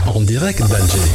En direct d'Alger.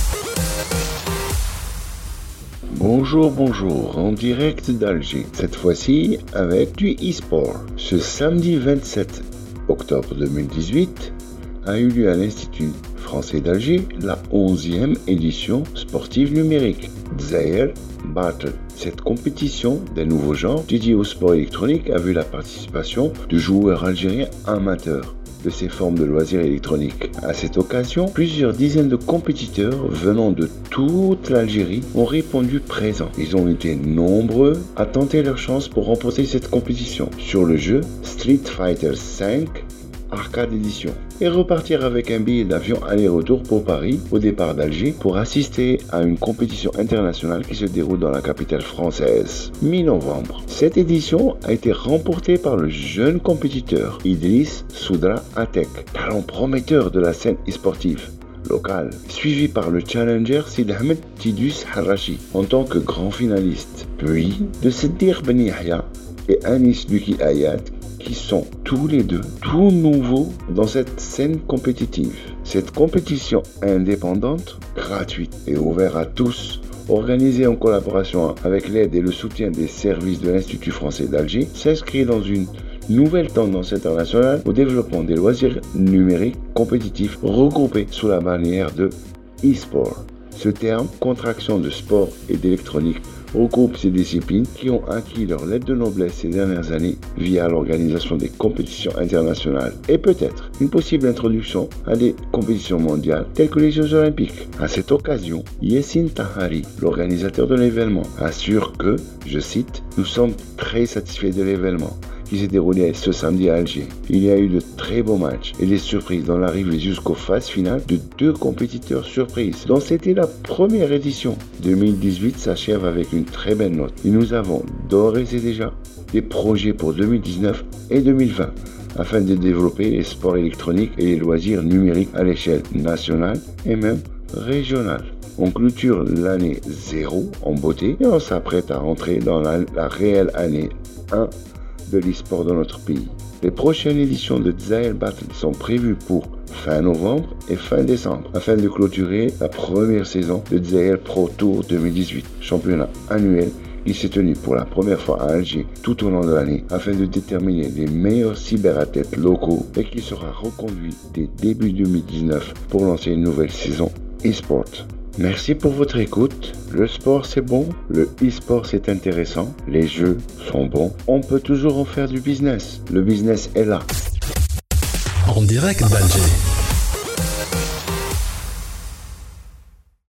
Bonjour, en direct d'Alger, cette fois-ci avec du e-sport. Ce samedi 27 octobre 2018 a eu lieu à l'Institut français d'Alger la 11e édition sportive numérique, Dzahir Battle. Cette compétition d'un nouveau genre dédié au sport électronique a vu la participation de joueurs algériens amateurs de ces formes de loisirs électroniques. À cette occasion, plusieurs dizaines de compétiteurs venant de toute l'Algérie ont répondu présents. Ils ont été nombreux à tenter leur chance pour remporter cette compétition sur le jeu Street Fighter V Arcade Edition et repartir avec un billet d'avion aller-retour pour Paris au départ d'Alger pour assister à une compétition internationale qui se déroule dans la capitale française, mi-novembre. Cette édition a été remportée par le jeune compétiteur Idriss Soudra Atek, talent prometteur de la scène e-sportive locale, suivi par le challenger Sid Ahmed Tidus Harachi en tant que grand finaliste, puis de Siddir Ben Yahya et Anis Luki Ayat qui sont tous les deux tout nouveaux dans cette scène compétitive. Cette compétition indépendante, gratuite et ouverte à tous, organisée en collaboration avec l'aide et le soutien des services de l'Institut français d'Alger, s'inscrit dans une nouvelle tendance internationale au développement des loisirs numériques compétitifs regroupés sous la bannière de e-sport. Ce terme, contraction de sport et d'électronique, regroupe ces disciplines qui ont acquis leur lettre de noblesse ces dernières années via l'organisation des compétitions internationales et peut-être une possible introduction à des compétitions mondiales telles que les Jeux Olympiques. À cette occasion, Yassine Tahari, l'organisateur de l'événement, assure que, je cite, « Nous sommes très satisfaits de l'événement qui s'est déroulé ce samedi à Alger. Il y a eu de très beaux matchs et des surprises dans l'arrivée jusqu'aux phases finales de 2 compétiteurs surprises, dont c'était la première édition. 2018 s'achève avec une très belle note et nous avons d'ores et déjà des projets pour 2019 et 2020 afin de développer les sports électroniques et les loisirs numériques à l'échelle nationale et même régionale. On clôture l'année 0 en beauté et on s'apprête à rentrer dans la réelle année 1 de l'e-sport dans notre pays. Les prochaines éditions de Dzahir Battle sont prévues pour fin novembre et fin décembre afin de clôturer la première saison de Dzahir Pro Tour 2018, championnat annuel qui s'est tenu pour la première fois à Alger tout au long de l'année afin de déterminer les meilleurs cyberathlètes locaux et qui sera reconduit dès début 2019 pour lancer une nouvelle saison e-sport. Merci pour votre écoute. Le sport c'est bon, le e-sport c'est intéressant, les jeux sont bons. On peut toujours en faire du business. Le business est là. En direct d'Alger.